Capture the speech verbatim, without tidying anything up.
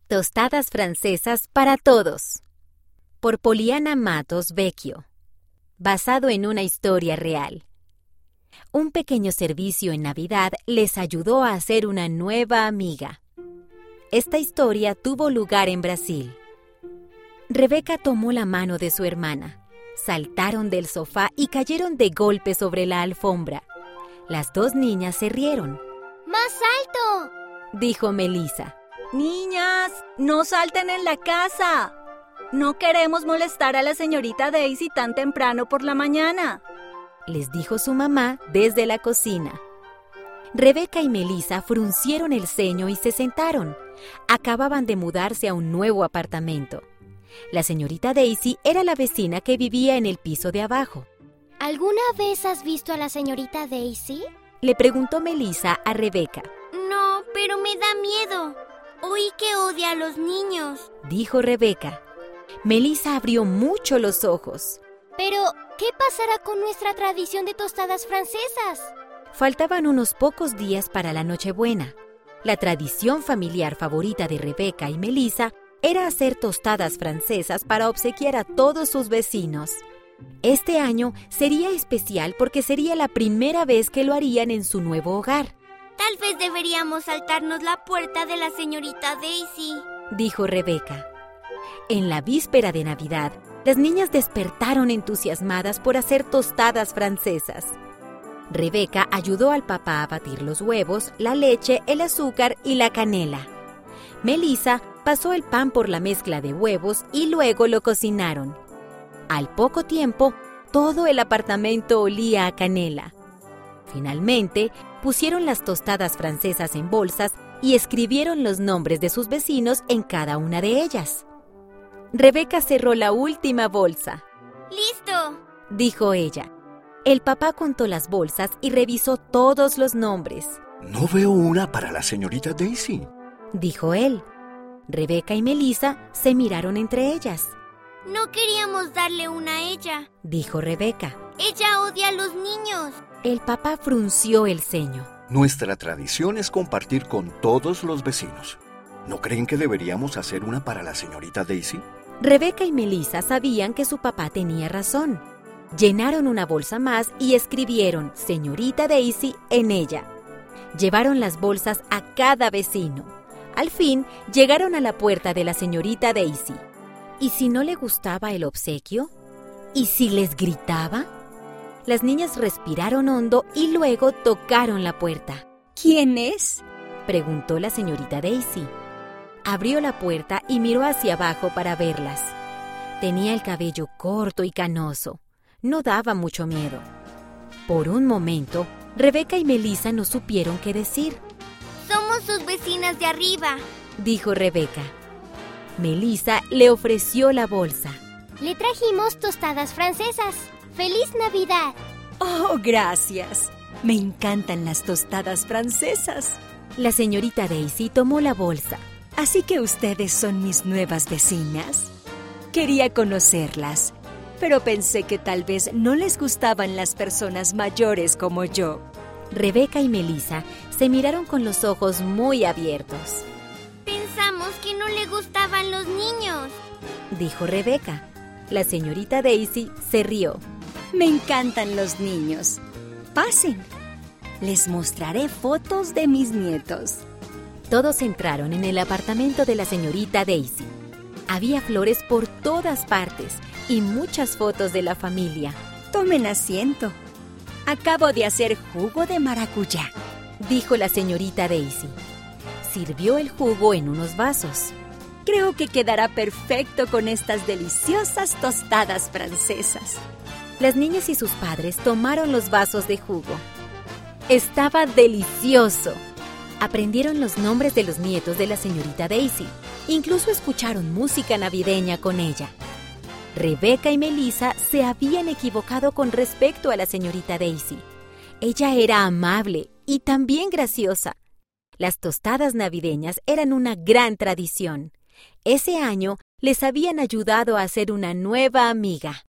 Tostadas francesas para todos. Por Poliana Matos Vecchio. Basado en una historia real. Un pequeño servicio en Navidad les ayudó a hacer una nueva amiga. Esta historia tuvo lugar en Brasil. Rebeca tomó la mano de su hermana. Saltaron del sofá y cayeron de golpe sobre la alfombra. Las dos niñas se rieron. ¡Más alto!, dijo Melissa. Niñas, no salten en la casa. No queremos molestar a la señorita Daisy tan temprano por la mañana, les dijo su mamá desde la cocina. Rebeca y Melissa fruncieron el ceño y se sentaron. Acababan de mudarse a un nuevo apartamento. La señorita Daisy era la vecina que vivía en el piso de abajo. ¿Alguna vez has visto a la señorita Daisy?, le preguntó Melissa a Rebeca. No, pero me da miedo. Oí que odia a los niños, dijo Rebeca. Melissa abrió mucho los ojos. Pero, ¿qué pasará con nuestra tradición de tostadas francesas? Faltaban unos pocos días para la Nochebuena. La tradición familiar favorita de Rebeca y Melissa era hacer tostadas francesas para obsequiar a todos sus vecinos. Este año sería especial porque sería la primera vez que lo harían en su nuevo hogar. Tal vez deberíamos saltarnos la puerta de la señorita Daisy, dijo Rebeca. En la víspera de Navidad, las niñas despertaron entusiasmadas por hacer tostadas francesas. Rebeca ayudó al papá a batir los huevos, la leche, el azúcar y la canela. Melissa pasó el pan por la mezcla de huevos y luego lo cocinaron. Al poco tiempo, todo el apartamento olía a canela. Finalmente, pusieron las tostadas francesas en bolsas y escribieron los nombres de sus vecinos en cada una de ellas. Rebeca cerró la última bolsa. ¡Listo!, dijo ella. El papá contó las bolsas y revisó todos los nombres. No veo una para la señorita Daisy, dijo él. Rebeca y Melissa se miraron entre ellas. No queríamos darle una a ella, dijo Rebeca. Ella odia a los niños. El papá frunció el ceño. Nuestra tradición es compartir con todos los vecinos. ¿No creen que deberíamos hacer una para la señorita Daisy? Rebeca y Melissa sabían que su papá tenía razón. Llenaron una bolsa más y escribieron Señorita Daisy en ella. Llevaron las bolsas a cada vecino. Al fin, llegaron a la puerta de la señorita Daisy. ¿Y si no le gustaba el obsequio? ¿Y si les gritaba? Las niñas respiraron hondo y luego tocaron la puerta. ¿Quién es?, preguntó la señorita Daisy. Abrió la puerta y miró hacia abajo para verlas. Tenía el cabello corto y canoso. No daba mucho miedo. Por un momento, Rebeca y Melissa no supieron qué decir. Somos sus vecinas de arriba, dijo Rebeca. Melissa le ofreció la bolsa. Le trajimos tostadas francesas. ¡Feliz Navidad! ¡Oh, gracias! Me encantan las tostadas francesas. La señorita Daisy tomó la bolsa. ¿Así que ustedes son mis nuevas vecinas? Quería conocerlas, pero pensé que tal vez no les gustaban las personas mayores como yo. Rebeca y Melissa se miraron con los ojos muy abiertos. Pensamos que no le gustaban los niños, dijo Rebeca. La señorita Daisy se rió. Me encantan los niños. Pasen. Les mostraré fotos de mis nietos. Todos entraron en el apartamento de la señorita Daisy. Había flores por todas partes y muchas fotos de la familia. Tomen asiento. Acabo de hacer jugo de maracuyá, dijo la señorita Daisy. Sirvió el jugo en unos vasos. Creo que quedará perfecto con estas deliciosas tostadas francesas. Las niñas y sus padres tomaron los vasos de jugo. Estaba delicioso. Aprendieron los nombres de los nietos de la señorita Daisy. Incluso escucharon música navideña con ella. Rebeca y Melissa se habían equivocado con respecto a la señorita Daisy. Ella era amable y también graciosa. Las tostadas navideñas eran una gran tradición. Ese año les habían ayudado a hacer una nueva amiga.